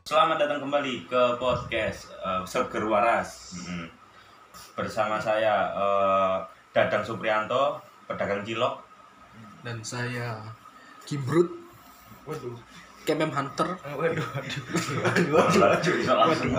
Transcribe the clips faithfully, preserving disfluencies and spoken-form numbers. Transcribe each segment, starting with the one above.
Selamat datang kembali ke podcast uh, Seger Waras. Hmm. Bersama saya uh, Dadang Supriyanto, pedagang cilok, dan saya Gimbrut. Waduh. Kemem Hunter. Waduh, waduh. Waduh, waduh, bisa langsung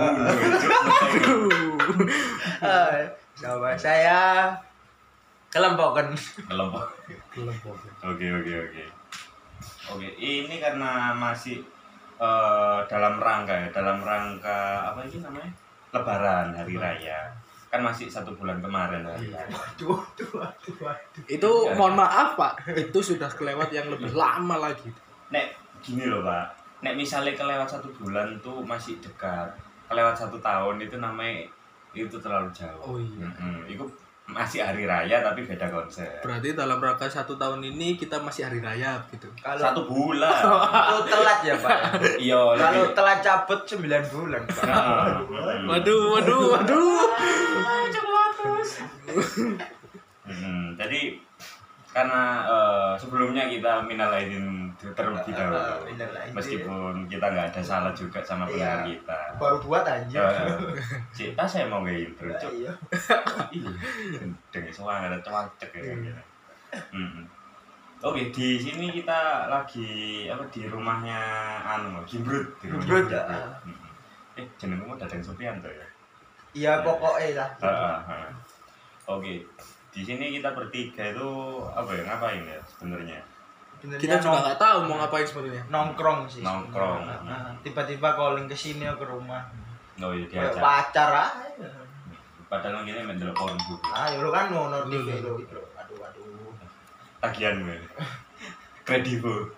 Sama saya Kelempokan. kelompok. Oke, oke, oke. Oke, ini karena masih uh, dalam rangka ya, dalam rangka apa ini namanya? Lebaran, hari raya. Kan masih satu bulan kemarin hari raya. Waduh, waduh, waduh, waduh. Itu mohon maaf Pak, itu sudah kelewat yang lebih lama lagi. Nek gini loh Pak, nek misalnya kelewat satu bulan tuh masih dekat, kelewat satu tahun itu namanya itu terlalu jauh. Oh iya. Mm-hmm. Itu masih hari raya tapi beda konsep. Berarti dalam rangka satu tahun ini kita masih hari raya gitu. Kalau Satu bulan. itu telat ya Pak. Iya. Kalau lebih- telat cabut sembilan bulan. Pak. Nah, Waduh, waduh, waduh. mm-hmm. Jadi karena uh, sebelumnya kita minal aidin terlebih dahulu. Minal aidin. Meskipun kita nggak ada salah juga sama pendengar Iya. kita. Baru buat aja. Uh, Cik, pas saya mau nge intro, Cuk. Iya. Iya, dengan suara ada cuacek ya. Gitu. Mm-mm. Oke, di sini kita lagi apa di rumahnya anu Gimbrut, di rumahnya Gimbrut, Gimbrut. ah. Mm-mm. Eh, jenengmu Dadang Supriyanto ya? Iya pokoknya lah. Heeh, heeh. Oke. Di sini kita bertiga itu apa ya ngapain ya sebenarnya? Sebenarnya Kita juga nong- nggak tahu mau ngapain sebenarnya. nongkrong sih. Nongkrong. sebenarnya. Nah, tiba-tiba calling ke sini ke rumah. Oh iya Kayak diajak. pacar aja. Padahal kita main delok porno. Ah, ya lu kan mau notif Lu, lu, itu lu. gitu. Aduh, aduh. Tagihan gue. Kredivo.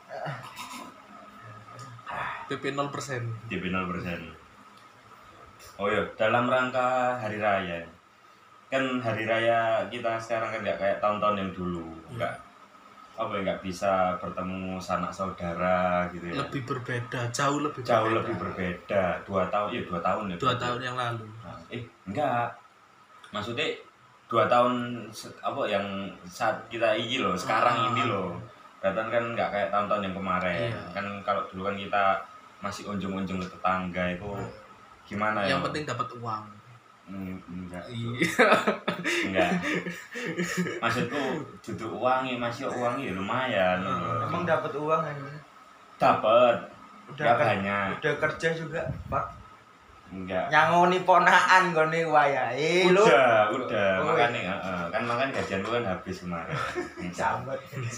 P P nol persen. D P nol persen. Oh iya, dalam rangka hari raya. Kan hari raya kita sekarang kan nggak kayak tahun-tahun yang dulu, nggak apa ya nggak bisa bertemu sanak saudara gitu ya. Lebih berbeda, jauh lebih Jauh berbeda. lebih berbeda. Dua tahun, ya dua tahun ya. Dua berarti. tahun yang lalu. Nah, eh enggak. Maksudnya dua tahun se- apa yang saat kita ini loh, sekarang Ah. ini loh. Berarti kan nggak kayak tahun-tahun yang kemarin. Iya. Kan kalau dulu kan kita masih unjung-unjung ke tetangga itu gimana ya? Yang penting dapat uang. Hmm, enggak. Iya. Enggak. Maksudku duduk uangnya masih uangnya ya lumayan. Hmm. Emang dapat uang kan? Dapat. Udah Enggak ker- banyak. Udah kerja juga, Pak. Enggak. Nyangoni ponaan gone wayahe lu. Udah, udah. Oh, Makanya heeh. Kan makanya gajian lu kan habis kemarin. Sambat.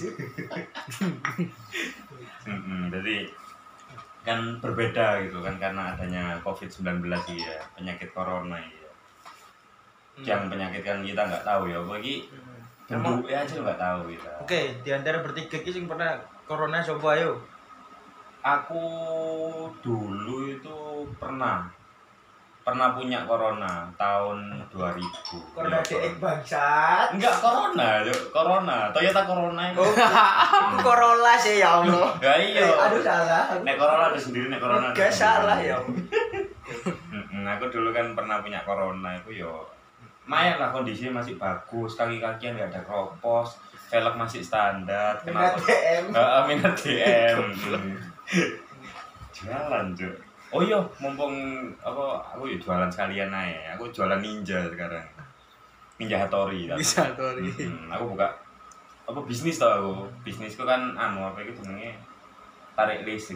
Mm-mm, jadi kan berbeda gitu kan karena adanya covid sembilan belas ya, penyakit corona ya. Yang penyakit kan kita nggak tahu ya, bagi Emang- bentuknya aja nggak tahu kita. Oke, di antara bertiga iki sing pernah corona coba ayo. Aku dulu itu pernah pernah punya corona tahun dua ribu. Corona Ya, dek bangsat. enggak corona, Cuk. Corona. Toyota Corona itu. Oh, aku Corolla sih ya Allah. Ya iya. Eh, aduh salah. Nek corona ada sendiri, nek corona ada Gak sendiri. salah ya. Allah. Mm-mm, aku dulu kan pernah punya corona itu yo. Lumayan lah kondisinya masih bagus, kaki-kakian nggak ada kropos, velg masih standar. Minat D M. Heeh, minat D M. Mm. Jualan, Cuk. Oh iya, mumpung apa aku ya jualan sekalian aja. Aku jualan ninja sekarang. Ninja Hattori. tapi. Bisa tuh. Mm-mm, aku buka apa bisnis tau aku. Bisnisku kan anu apa itu jenenge tarik leasing.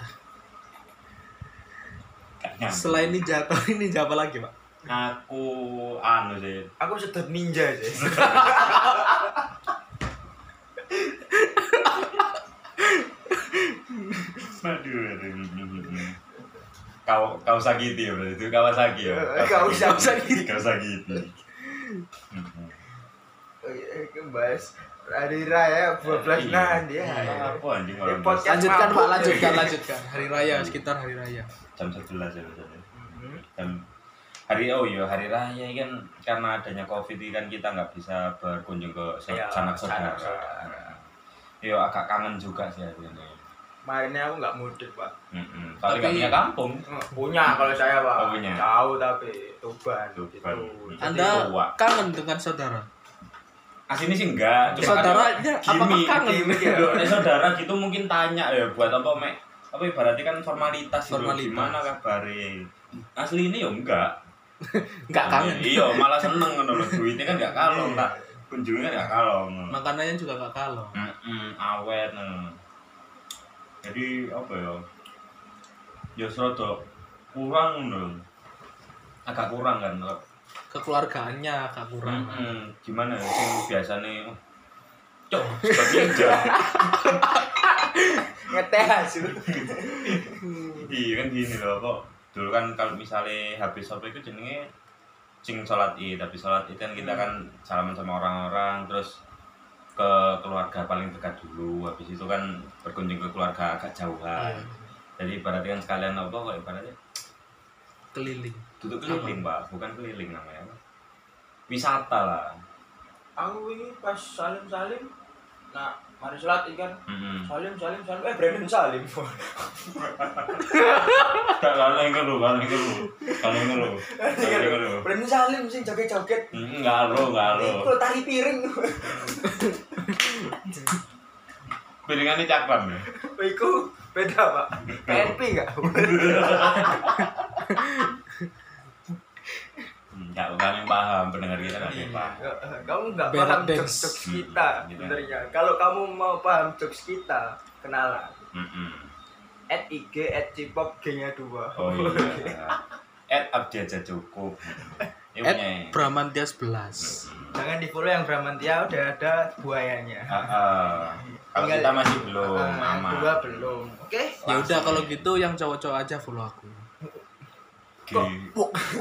Kayaknya. Selain ninja atau ninja apa lagi, Pak? Aku anu sih. Aku sedot ninja sih. Aduh, aduh. Kau kau sakiti ya berarti itu Kawasaki ya. Kawasaki. Kawasaki. Oke, bahas hari raya dua belas nah dia. Apa anjing Eh, orang podcast Lanjutkan, Pak, mabuk. lanjutkan, lanjutkan. Hari raya, sekitar hari raya. jam sebelas ya biasanya. Mhm. Jam hari oh iya hari raya kan karena adanya covid ini kan kita nggak bisa berkunjung ke so- Iya, sanak saudara. sanak saudara. Iya agak kangen juga sih akhirnya. Kemarinnya aku nggak mudik, Pak. Mm-mm. Tapi Tapi- nggak punya kampung. Punya kalau saya, Pak. Oh, punya. Jauh tapi Tuban. Tuban. Gitu. Jadi Anda tua. kangen dengan saudara? Aslinya sih enggak. Cuma Saudaranya kadang apakah gimmick. kangen? Gimmick ya. Loh, nek saudara gitu mungkin tanya ya buat apa mek apa ibaratnya kan formalitas, Formalitas. itu gimana kabare. Asli ini ya enggak. Enggak kangen. Iya, malah seneng ngono lho. Duitnya kan enggak kalong, tak kunjungan enggak kalong. Makanannya juga enggak kalong. Heeh, awet. Nah. Jadi apa ya? Ya serada kurang lho. Agak kurang kan. Kekeluargaannya agak kurang. Hmm, gimana ya sing biasane cok sebagai Ngeteh hasil. iya kan gini loh kok dulu kan kalau misalnya habis apa itu jenenge sing sholat id tapi sholat id kan kita kan salaman sama orang-orang terus ke keluarga paling dekat dulu habis itu kan berkunjung ke keluarga agak jauhan Iya. jadi ibaratnya kan sekalian apa kok ibaratnya Keliling. duduk keliling pak bukan keliling namanya wisata lah. Aku ini pas salim-salim nah mari sholat kan Mm-hmm. salim salim salim eh Brandon salim. Tak kalau yang keru, kalau yang keru, kalau yang keru, kalau yang keru. Brandon salim sing joget-joget. Enggak lo, enggak lo. Kalau tari piring. Piringannya cakram ya. Iku beda pak. P N P enggak? Enggak bukan yang paham pendengar kita enggak yang paham. Kamu nggak Berak paham dance. jokes-jokes kita Hmm, gitu. sebenarnya. Kalau kamu mau paham jokes kita, kenalan. Mm-mm. At I G at Cipop G-nya dua. Oh iya. Add Abdi aja cukup. Ini At punya. Bramantia sebelas. Jangan di follow yang Bramantia udah ada buayanya. Ah, ah. Kalau Tinggal- kita masih belum Ah, yang aman. dua belum. Oke. Ya udah kalau gitu yang cowok-cowok aja follow aku. Gini.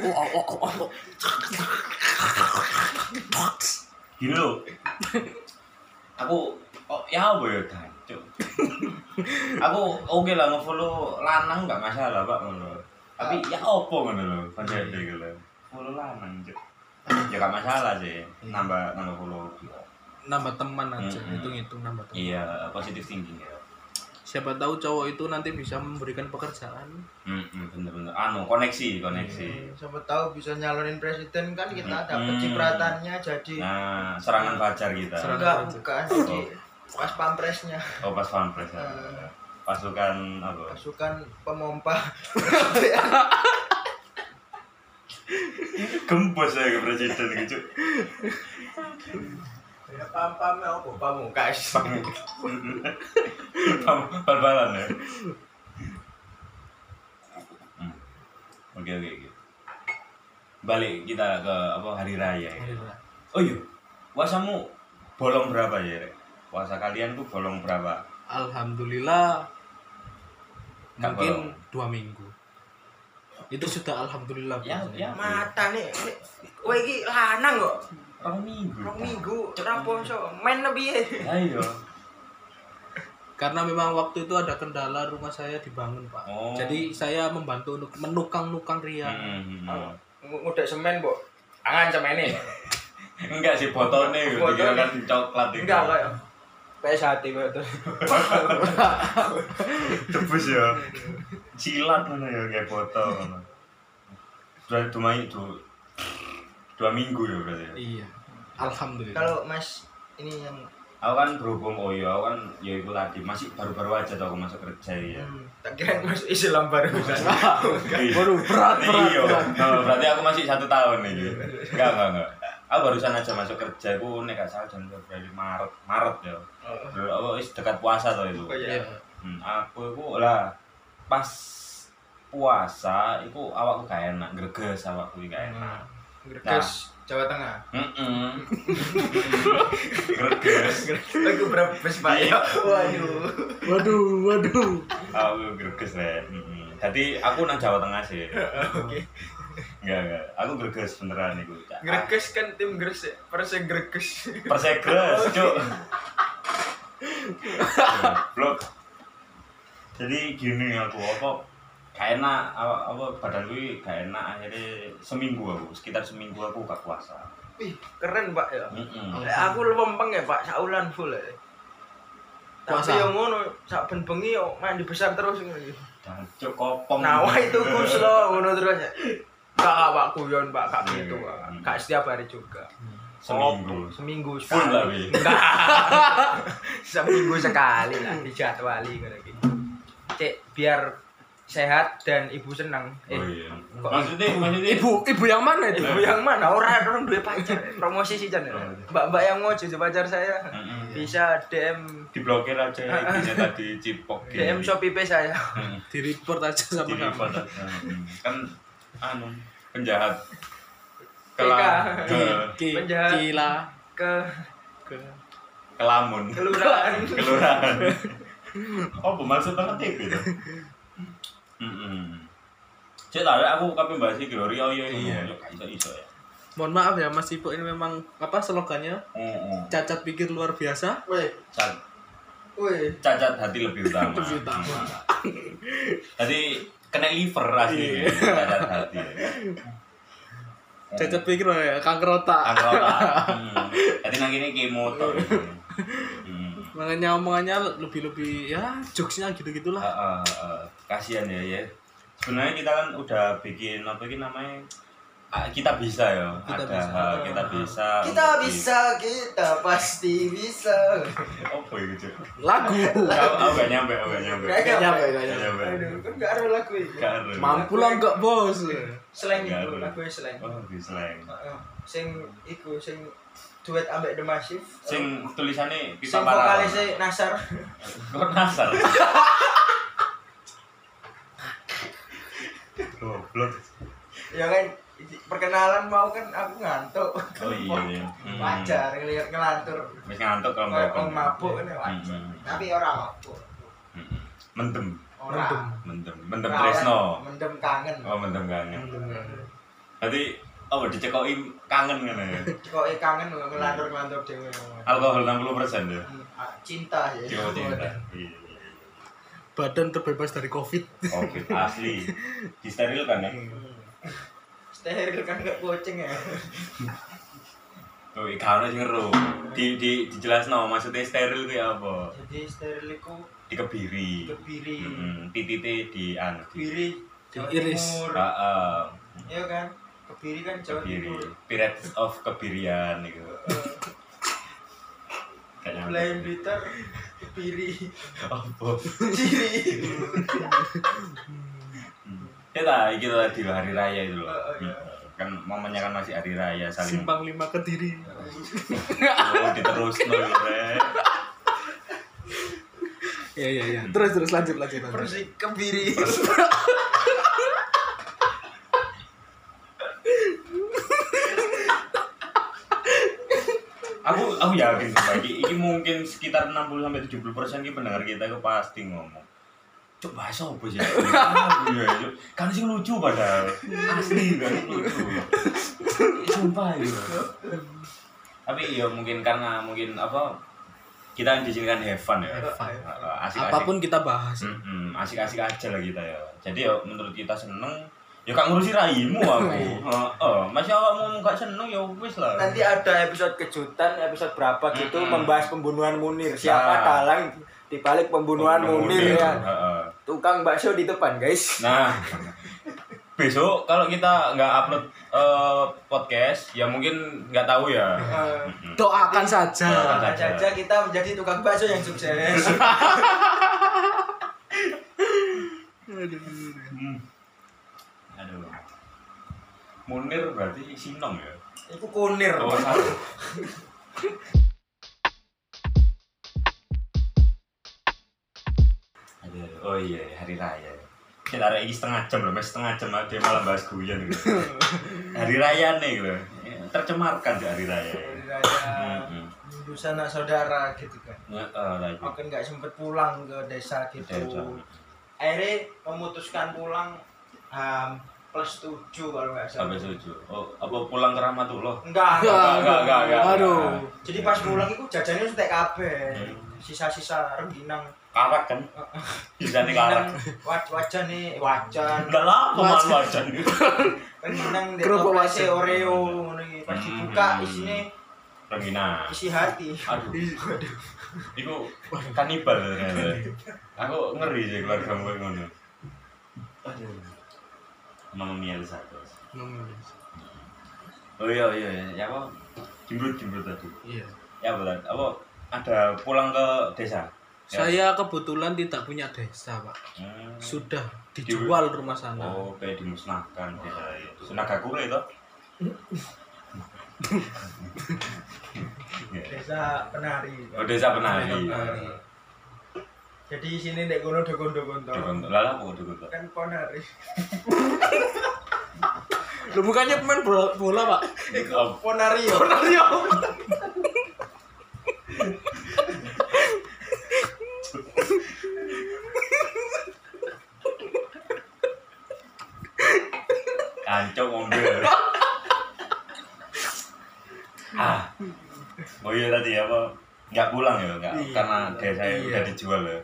Gini loh. Aku oh ya apa ya Cuk. Aku oke lah nge-follow lanang enggak masalah, Pak, ngono. Tapi ya opo ngono lho, konsepnya gitu lho. Follow lanang, Cuk. Ya enggak masalah sih, nambah nambah follow. Nambah teman aja, Mm-mm. hitung-hitung nambah teman. Iya, positif thinking ya. Siapa tahu cowok itu nanti bisa memberikan pekerjaan. Hmm, bener-bener. Anu, koneksi, koneksi. Siapa tahu bisa nyalonin presiden kan kita dapat Hmm. cipratannya jadi Nah, serangan fajar kita. Serangan enggak fajar. bukan jadi pas pampresnya Oh, pas pampres. Ya. Eh. Pasukan apa? pasukan pemompa. Gembos ya ke presiden gitu. Ya pam-pamnya apa? Pamungkas. Bal-balan ya. Hmm. Oke oke oke. Balik kita ke apa hari raya. Ya. Oh iya, puasamu bolong berapa ya? Rek? Puasa kalian tuh bolong berapa? Alhamdulillah Nggak mungkin bolong. dua minggu. Itu sudah alhamdulillah. Ya, puasanya. ya. Mata nih. Kowe iki lanang kok. Rong minggu. Rong minggu ora poso. Men piye? Ayo. Karena memang waktu itu ada kendala rumah saya dibangun, Pak. Oh. Jadi saya membantu untuk menukang-nukang ria. Hmm, hmm, hmm. Ngudek semen, Mbok. Angan semene. Enggak sih botone gitu, Botone. kira kan coklat itu. Enggak kayak P S H T kok itu. Tebus ya. Silat mana ya kayak botol. Sudah dua itu dua minggu ya berarti. ya? Iya. Alhamdulillah. Kalau Mas ini yang Aku kan berhubung oh ya aku kan ya itu tadi masih baru-baru aja tau aku masuk kerja ya. hmm, tak kira Mas Islam baru kan. Waduh, berat, berat, Iya, berat. nah, berarti aku masih satu tahun nih. Enggak, enggak, enggak. Aku barusan aja masuk kerja, aku nek gak salah jam Februari Maret, Maret ya. Dulu aku wis dekat puasa tuh itu. Oh iya. Iya. Hmm, aku itu lah pas puasa itu awakku gak enak, greges awakku gak enak. Greges Jawa Tengah. Heeh. Greges. Lagu berapa bes Pak ya? Waduh. Waduh, waduh. Aku greges ya. Heeh. Jadi aku nang Jawa Tengah sih. Oke. Enggak, enggak. Aku greges beneran iku. Greges kan tim Gresik, Perseg Greges. Persegres, Cuk. Blok. Jadi gini aku apa gak enak apa, apa badan gue gak enak akhirnya seminggu aku sekitar seminggu aku gak puasa. Wih, keren Pak ya. Heeh. Eh, aku lempeng ya Pak, saulan full ya. Puasa. Tapi yang ngono, sak ben bengi yo mandi besar terus ngono. Dan cuk kopong. Nawa itu kus lo ngono terus ya. Kak Pak kuyon Pak, kak Iya, gitu iya. Pak. Kak setiap hari juga. Seminggu. Oh, seminggu Full sekali. tapi. Enggak. Seminggu sekali lah dijadwali ngono iki. Cek biar sehat dan ibu senang. Oh Eh, iya. kok- Maksudnya maksudnya Ibu, ibu yang mana itu? Ibu yang mana? Orang orang duwe pacar. Promosi sih Jan. Mbak-mbak yang mau jadi pacar saya Mm-mm. bisa D M diblokir aja ibunya tadi cipok D M Shopee Pay saya. Di report aja sama Di kamu. report aja. Mm. Kan anu penjahat P K. ke Ki, Penjahat. Kila Ke ke kelamun kelurahan. kelurahan. Oh, maksud banget gitu. Heeh. Cek tahu aku kabeh bahas iki lho Rio yo Iya. yo gak iso-iso ya. Mohon maaf ya Mas Ipo, ini memang apa slogannya? Heeh. Cacat pikir luar biasa. Woi, Cat- woi. Cacat hati lebih utama. Lebih utama. Tadi kena liver asli Iya. cacat hati. Cacat pikir ya, kanker otak. Kanker otak. Hmm. Tadi nang kene kemo to. Hmm. Makanya omongannya lebih-lebih ya jokesnya gitu-gitulah. Uh, uh, uh, kasihan ya ya. Sebenarnya kita kan udah bikin apa ini namanya ah, kita bisa ya. Kita Ada bisa. uh, kita bisa. Kita untuk di- bisa, kita pasti bisa. Apa ya gitu? Lagu. Aku aku gak nyampe, aku gak nyampe. Gak Gak nyampe, gak Gak nyampe. nyampe. Aduh, kan gak ada lagu itu. Gak ada. Mampu lah enggak, Bos. Slang Gak itu, ada. lagu slang. Oh, di slang. Heeh. Sing iku sing duet ambek The Massive. Sing tulisannya sing kita parah. vokalisnya Nasar. Kok nasar? Goblok. Ya kan perkenalan mau kan aku ngantuk. Oh iya iya. Hmm. Wajar ngelihat ngelantur. Wis ngantuk kalau Kayak ngomong. wong mabuk kan wajar. Hmm. Tapi ora mabuk. Hmm. Mendem, Ora. mendem, mendem Ora, tresno. Mendem kangen. Oh, mendem kangen. Tadi oh dicekoki kangen ngene ya. Kok eh kangen ngelantur-ngelantur dhewe. Alkohol enam puluh persen ya. Hmm, ah, Cinta ya. Yo cinta. Iya. Badan terbebas dari Covid. Oke, asli. Disterilkan ya. Steril kan gak kucing ya. Oh, ikan sing ngeru. Di di dijelasno maksudnya steril ku ya apa? Jadi steril iku Dikebiri. kebiri. Heeh, titite di anu. Kebiri Jawa Diiris. Timur. Heeh. Iya kan? Kebiri kan Jawa Kebiri. Timur. Pirates of Kebirian iku. Kayaknya. Blind Blitter kebiri. Apa? Ciri. Ya lah, iki tadi loh, hari raya itu loh. Oh, iya. Kan momennya kan masih hari raya saling Simpang lima Kediri. oh, diterus loh, Re. Iya iya iya. Terus terus lanjut lanjut. lanjut. Persik kebiri. Aku aku yakin sih, Pak. Iki, iki mungkin sekitar enam puluh sampai tujuh puluh persen ki pendengar kita itu pasti ngomong. Cuk bahasa apa sih? Iya, Cuk. Kan sing lucu padahal. Asli kan lucu. Sumpah itu. Tapi ya mungkin karena mungkin apa kita di sini kan have fun ya. Have fun. Asik-asik. Apapun kita bahas. Mm-mm, asik-asik aja lah kita ya. Jadi ya menurut kita seneng, ya gak ngurusi raimu aku. Heeh, masih awakmu gak seneng ya wis lah. Nanti ada episode kejutan, episode berapa gitu Mm-mm. membahas pembunuhan Munir. Siapa Nah. dalang di balik pembunuhan Munir ya. Heeh. Tukang bakso di depan, guys. Nah, besok kalau kita nggak upload eh, podcast, ya mungkin nggak tahu ya. Eh, Mm-mm. Doakan saja. Doakan Doakan saja kita menjadi tukang bakso yang sukses. Hmm. Aduh. Munir berarti Sinong ya? Itu kunir. Oh, salah. Aduh, oh iya, hari raya. Kita hari ini setengah jam loh, masih setengah jam dia malah bahas guyon gitu. Hari raya nih gitu. Tercemarkan di hari raya. Hari raya. Mm-mm. Hindu sanak saudara gitu kan. Ya, eh, lagi. Aku kan nggak sempet pulang ke desa gitu. Desa. Akhirnya memutuskan pulang um, plus tujuh kalau nggak salah. Sampai tujuh. Oh, apa pulang ke Rahmatullah? Enggak, Enggak, enggak. enggak, enggak, enggak. Aduh. Jadi pas pulang itu jajannya sudah kabeh. Hmm. Sisa-sisa rengginang. Karak kan? Bisa nih karak. Waj wajan nih, wajan. Enggak lah, Wajan. pemain wajan. Rengginang di Kerupuk toplesnya wajan. Oreo ngono iki. Pas dibuka Hmm. isinya Rengina. isi hati. Aduh. Iku kanibal ternyata. Aku ngeri sih keluarga gue ngono. Aduh. Emang miel satu. Oh iya iya iya. Ya apa? Jembrut jembrut tadi. Iya. Ya betul. Apa ada pulang ke desa? Saya kebetulan tidak punya desa, Pak. Hmm. Sudah dijual rumah sana. Oh, kayak dimusnahkan desa itu. Nagakure itu. Desa penari. Oh, desa penari. Penari. Jadi di sini nek kono dogon-dogon to. Dogon. Lah apa dogon? Kan penari. Lu bukannya pemain bola, bola Pak? Iku Ponario. Ponario. Kancok ngombe. Ah. Oh iya tadi apa? Enggak pulang ya, enggak Iya. karena desa Iya. udah dijual ya.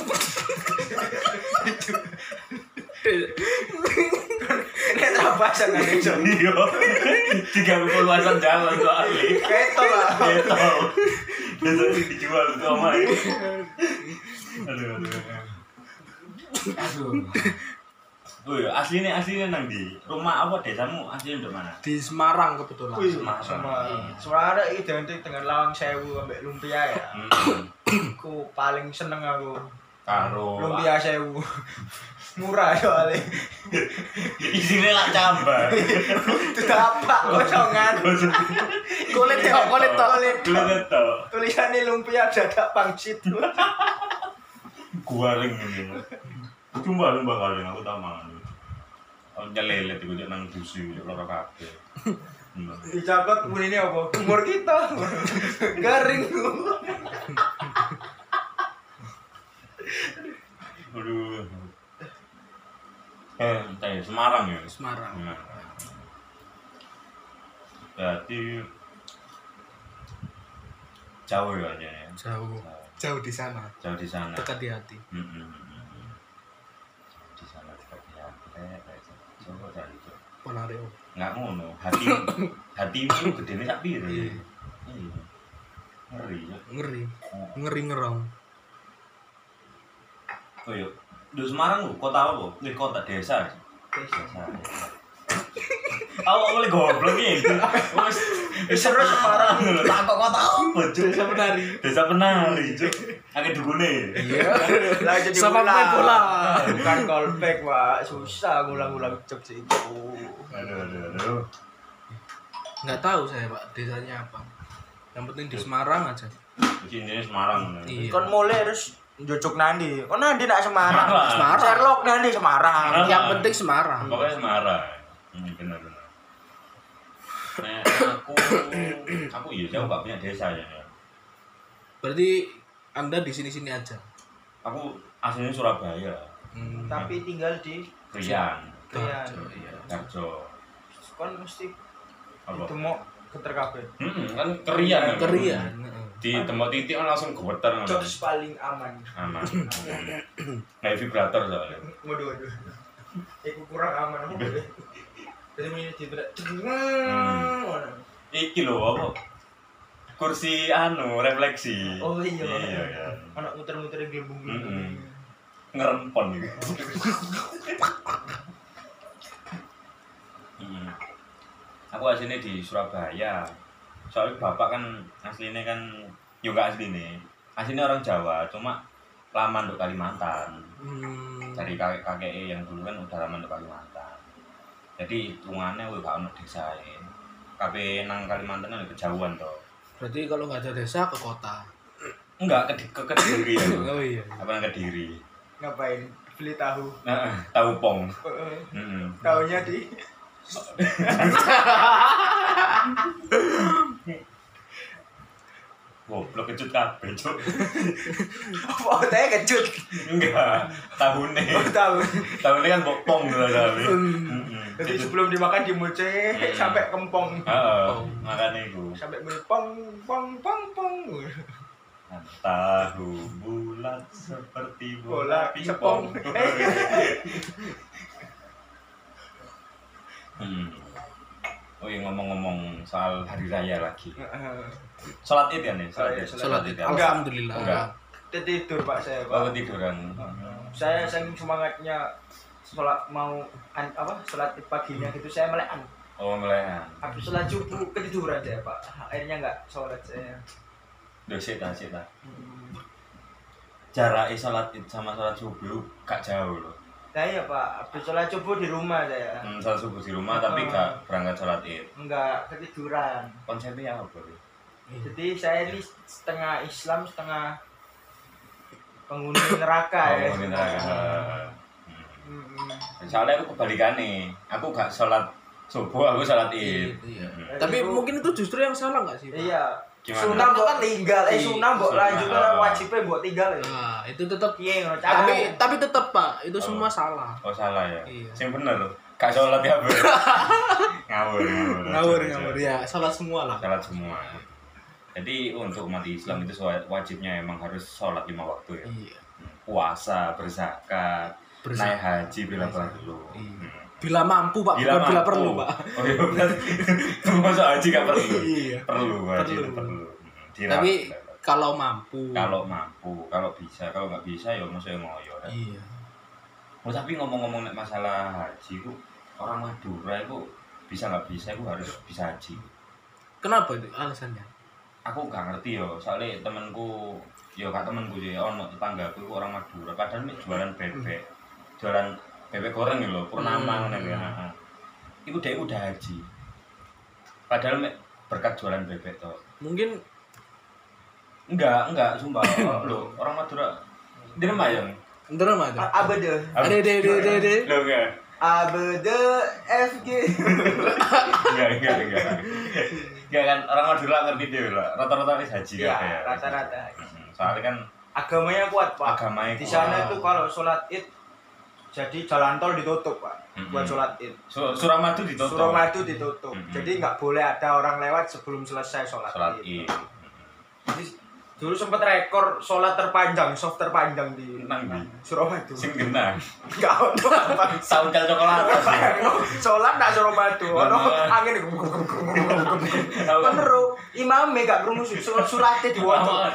Nek apa sangan iso. Iya. Tiga puluh luasan jalan tuh ahli. Keto lah. Gitu. Desa ini dijual tuh omah. Aduh aduh. Aduh. Oh iya, aslinya aslinya nang di rumah apa desamu aslinya di mana? Di Semarang kebetulan. Wih, Semarang. sama Semarang identik dengan Lawang Sewu ambek lumpia ya. Hmm. Aku paling seneng aku Karo lumpia Sewu. Murah soalnya. isinya lah cambah. Itu apa kosongan. Kulit tok, kulit tok. Kulit tok. Kulit tok. Tulisannya lumpia dadak pangsit. Guaring ini. Cuma lumba kali aku tak mangan. Aku nyelelet iku nek nang dusi loro kabeh. Hmm. Dicakot bunine apa? Umur kita. Garing. Aduh. Eh, tadi Semarang ya. Semarang. Nah. Berarti jauh ya aja ya. Jauh. Jauh di sana. Jauh di sana. Dekat di hati. Mm-mm. Di sana dekat di hati. Eh, coba cari coba. Ponario. Nggak ngono, hati hatimu gedene sak piro. Iya. Iya. Ngeri ya. Ngeri. Ngeri ngerong. Oh iya, di Semarang lu kota apa? Ini kota desa. Desa. Awak boleh goblok iki. Wes Seru Semarang. Tak kok kota apa, Cuk? Desa penari. Desa penari, Cuk. Akeh dugune. Iya. Lah jadi Sama main bola. Bukan callback, Pak. Susah ngulang-ngulang jokes itu. Aduh, aduh, aduh. Nggak tahu saya Pak desanya apa. Yang penting di Semarang aja. Di sini Semarang. Iya. Kon mulai harus jocok nandi. Kon nandi nak Semarang. Semarang. Sherlock nandi Semarang. Semarang. Yang penting Semarang. Pokoknya Semarang. Hmm, benar-benar. Nah, aku aku iya jauh gak punya desa ya. Berarti Anda di sini-sini aja. Aku aslinya Surabaya. Hmm. Tapi tinggal di Krian, Krian. Darjo, iya. Darjo. Kon mesti Apa? itu mau geter kabeh. Hmm, kan Krian. Kerian. Heeh. Di tempat titik kan langsung gemeter ngono. Jokes paling aman. Aman. Kayak vibrator soalnya. Waduh, waduh. Iku kurang aman apa boleh. Jadi ini tidak. Iki lho apa? Kursi anu refleksi. Oh iya. Iya ya. Anak muter-muter yang gelembung. Mm-mm. Ngerempon gitu. Hmm. Aku aslinya di Surabaya. Soalnya bapak kan aslinya kan juga aslinya. Aslinya orang Jawa, cuma lama untuk Kalimantan. Hmm. Dari kakek-kakek yang dulu kan udah lama untuk Kalimantan. Jadi hitungannya wih gak ono desa ya. Kabeh nang Kalimantan kan kejauhan toh. Berarti kalau nggak ada desa ke kota. Enggak ke ke Kediri ya. Oh iya. Apa nang Kediri? Ngapain? Beli tahu. Nah, tahu pong. Heeh. Heeh. Tahunya di Goblok kecut kabeh, Cuk. apa teh kecut. Enggak, tahune. Oh, tahu. Tahune kan bopong gitu kali. Heeh. Jadi sebelum dimakan dimuceh Hmm. sampai kempong. Heeh, makane iku. Sampai bunyi pong pong pong pong. Tahu bulat seperti bola Bola pingpong. pingpong. Hmm. Oh iya ngomong-ngomong soal hari raya lagi. Heeh. Salat Id ya nih, salat Id. Sholat Id. itu. ya? Alhamdulillah. Enggak. Tidur Pak saya, Oh, Pak. tiduran. Saya saking semangatnya sholat mau an, apa sholat paginya gitu saya melekan. Oh, melehan. Habis sholat subuh ketiduran saya Pak. Akhirnya nggak sholat saya. Duh, sik ta, sik ta. jarak sholat id sama sholat subuh gak jauh loh. Nah iya Pak, habis sholat subuh di rumah saya. Hmm, sholat subuh di rumah tapi gak berangkat sholat id. Enggak, ketiduran. Konsepnya apa tuh? Jadi saya ini setengah Islam, setengah penghuni neraka Oh, ya. penghuni neraka. Hmm. Hmm. Soalnya aku kebalikan nih, aku gak sholat subuh, aku sholat id. Iya. Hmm. Tapi Itu- mungkin itu justru yang salah nggak sih, Pak? Iya. Gimana? Sunah mbok tinggal, eh sunah mbok Sunah. lanjut wajibnya mbok tinggal ya. Nah, itu tetap Piye ngono tapi cara. tapi tetap Pak, itu Oh. semua salah. Oh salah ya? Iya. Yang bener loh, gak sholat ya ber. ngawur, ngawur. Ngawur Coba, ngawur coba. ya, salah semua lah. Sholat semua. Jadi untuk umat Islam itu wajibnya emang harus sholat lima waktu ya. Iya. Puasa, berzakat, Berzakat. naik haji bila perlu. Iya. Hmm. Bila mampu Pak, Bila bukan bila mampu. perlu Pak. Oh iya berarti masuk haji gak perlu. Iya. Perlu haji Perlu. itu perlu. Dirawat. Tapi kalau mampu. kalau mampu, kalau bisa, kalau nggak bisa ya maksudnya ngoyo. Kan? Iya. Oh, tapi ngomong-ngomong nek masalah haji itu orang Madura itu bisa nggak bisa itu harus bisa haji. Kenapa itu alasannya? Aku nggak ngerti yo, soalnya temanku, yo kak temanku sih, ono tetanggaku itu orang Madura, padahal mek jualan bebek, jualan bebek goreng gitu loh, purnama Hmm. ngono ya. Iku dia udah haji. Padahal mek berkat jualan bebek toh. Mungkin Enggak, enggak, sumpah. Oh, loh, orang Madura di Remayang. ntar mah itu. Abede. Ada de de de de. Loh enggak. Abede F G. Enggak, enggak, enggak. Enggak kan orang Madura ngerti dia lah. Rata-rata wis haji Iya, kabeh ya. rata-rata. Mm-mm. Soalnya kan Agamanya kuat, Pak. agamanya Di kuat. sana itu kalau sholat Id jadi jalan tol ditutup, Pak. Mm-mm. Buat sholat Id. Su- Suramadu ditutup. Suramadu ditutup. Mm-mm. Jadi nggak boleh ada orang lewat sebelum selesai sholat, Sholat Id. Id. Jadi dulu sempat rekor sholat terpanjang, soft terpanjang di Nang di? Suramadu. Sing genah. Enggak ono apa. Sauncal coklat. Sholat nak Suramadu, ono Bener. angin. Bener, imame gak krungu surat surate diwaca.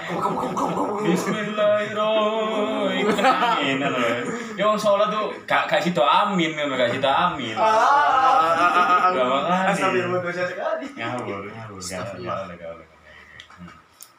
Bismillahirrahmanirrahim. Amin. Ya wong sholat tuh gak gak sido amin, ngono gak sido amin. Ah, Gak makanya. astagfirullah dosa sekali. Ngawur, ngawur. Gak Astagfirullah. boleh, gak boleh. Hmm.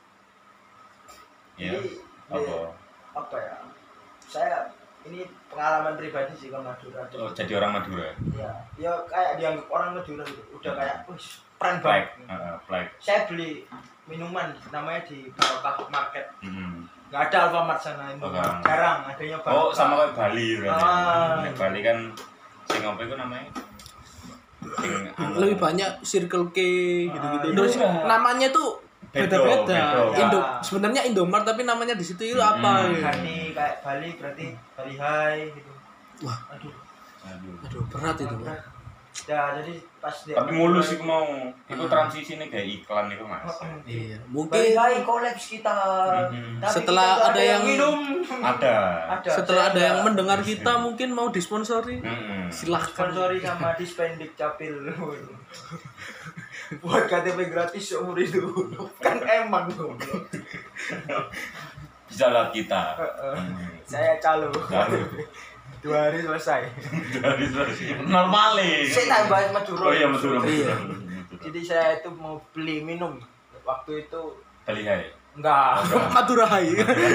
Ya, Jadi, apa? apa ya? Saya ini pengalaman pribadi sih ke Madura. Oh, jadi orang Madura. Ya, ya kayak dianggap orang Madura gitu. Udah kayak, wih, keren Flag, banget. heeh, flag. Saya beli minuman namanya di Barokah Market. Hmm. Nggak ada Alfamart sana ini. Oh, kan. Jarang adanya Oh, Barokah. sama kayak Bali berarti. Ah. Nek Bali kan sing apa itu namanya? Sing anu. lebih banyak Circle K gitu-gitu. Ah, Terus iya. namanya tuh Bedo, beda-beda. bedo. Indo Ya. sebenarnya Indomart tapi namanya di situ itu Hmm. apa ya? Hani kayak Bali berarti Bali High gitu. Wah, Aduh. Aduh. aduh berat itu. Pak. berat. Ya, jadi pas dia Tapi mulus sih mau. Itu Hmm. transisi nih kayak iklan itu Mas. Iya, Bali mungkin High kolaps kita. Mhm. Tapi Setelah kita nggak ada yang- minum. Ada. Ada. setelah saya ada yang nggak mendengar kita mungkin mau disponsori, Hmm. silahkan. sponsori sama Dispendik Capil. Buat K T P gratis seumur hidup. Kan emang goblok. Bisa lihat kita. Heeh. Hmm. Saya calo. Calo. Dua hari selesai. Dari normal Saya tambah Madura. Oh iya Madura. Iya. Jadi saya itu mau beli minum. Waktu itu Bali Hai. enggak. Madura Hai.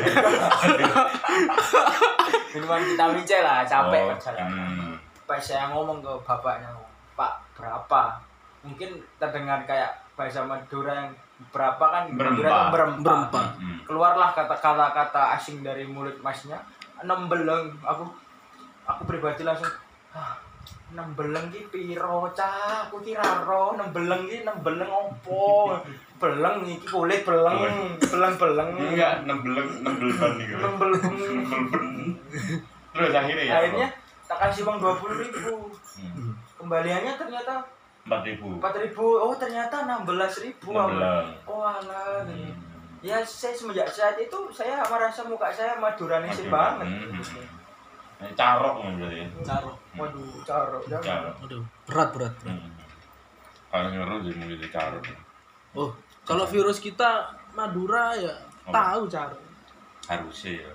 Minuman vitamin C lah, capek Oh, kerja. hmm. Pas saya ngomong ke bapaknya, Pak berapa? Mungkin terdengar kayak bahasa Madura yang berapa kan? Berempat. Madura itu berempat. Berempat. Hmm. Keluarlah kata-kata kata asing dari mulut masnya. Enam beleng. Aku aku pribadi langsung, ah, enam beleng ki piro cah? Aku kira ro enam beleng ki enam beleng opo? Beleng iki kulit beleng, beleng-beleng. Enggak, enam beleng, enam belban nih. Enam beleng. Terus akhirnya ya. Akhirnya tak kasih uang dua puluh ribu. Hmm. Kembaliannya ternyata Empat ribu. empat ribu. Oh ternyata enam belas ribu. Enam belas. Oh alah. Hmm. Ya saya semenjak saat itu saya merasa muka saya Maduranese Madura. banget. Hmm. Carok kan berarti. Caro. Waduh, caro. Carok. Jangan. Aduh, berat berat. Hmm. Kalau ngeru sih mungkin di carok. Oh, kalau virus kita Madura ya Oh. tahu Caro. Harusnya ya.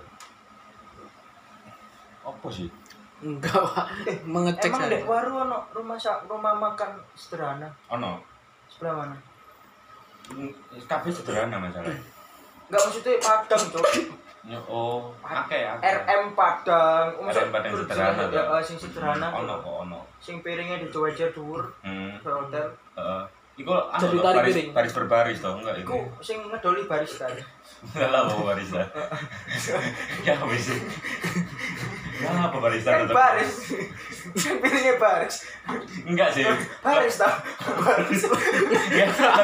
Apa sih? Enggak, Pak. Mengecek Emang saya. dek waru ono rumah sa- rumah makan sederhana Ono. sebelah mana? Kabeh sederhana masalah. Enggak maksudnya Padang, Cok. Oh, akeh akeh. R M Padang, R M Padang sederhana. ya eh, sing sederhana. Ono kok ono. Sing piringnya dicoba-coba dhuwur. Hmm. Hotel. Heeh. Iku anu Jadi toh, tarik baris, piring. baris berbaris toh enggak itu? Iku sing ngedoli barista. Lah mau barista. Ya wis. Ya apa barista Kan tetep? baris. Sing piringnya baris. Enggak sih. Baris tau. Baris. Ya,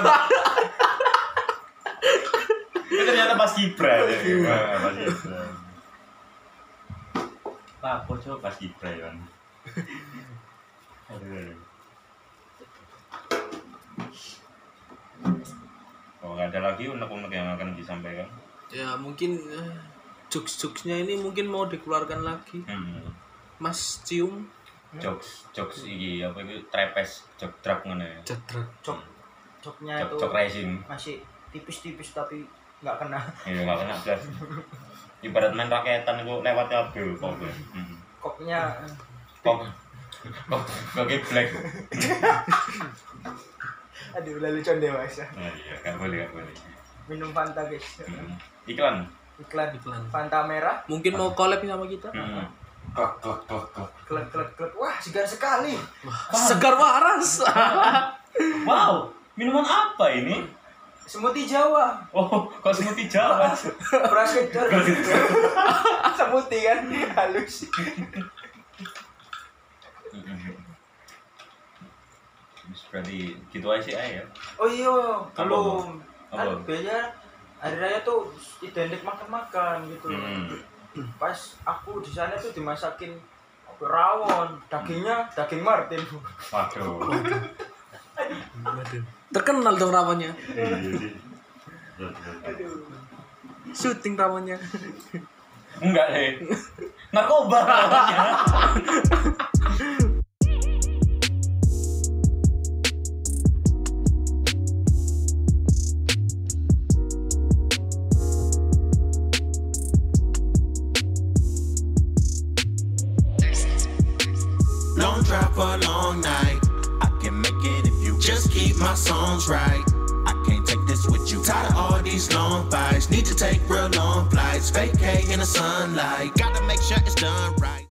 itu ternyata pas Kibra ya. Wah, pas Kibra. Apa coba pas Kibra ya kan? Aduh, aduh. Oh, nggak ada lagi unek-unek yang akan disampaikan? Ya mungkin eh, jokes-jokesnya ini mungkin mau dikeluarkan lagi. Hmm. Mas Cium. Jokes, jokes iki apa itu trapes, jok trap ngono ya. Jadrak. Cok. Coknya Jok, itu jok racing. masih tipis-tipis tapi nggak kena. Iya, nggak kena blas. Ibarat main raketan itu lewat kabel pokoknya. Hmm. Koknya Kok kok kok black. aduh lalu con dewasa. Nah, iya, nggak boleh, nggak boleh. Minum Fanta guys. Hmm. Iklan. Iklan. Iklan. Fanta merah. Mungkin mau collab sama kita. Hmm. Klok klok klok klok. Klek klek klek. Wah, segar sekali. Segar waras. Wow, minuman apa ini? Smoothie Jawa. Oh, kok smoothie Jawa? Beras kencur. Smoothie kan halus. Berarti gitu aja sih ya. Oh iya, Apa, belum. Apa? Kan biasanya hari raya tuh identik makan-makan gitu. Hmm. Pas aku di sana tuh dimasakin rawon, dagingnya daging Martin. Waduh. Terkenal dong rawannya. Aduh. Syuting rawannya. Enggak sih. Narkoba namanya. Long drive for a long night. I can make it if you just keep my songs right. I can't take this with you. Tired of all these long fights. Need to take real long flights. Vacay in the sunlight. Gotta make sure it's done right.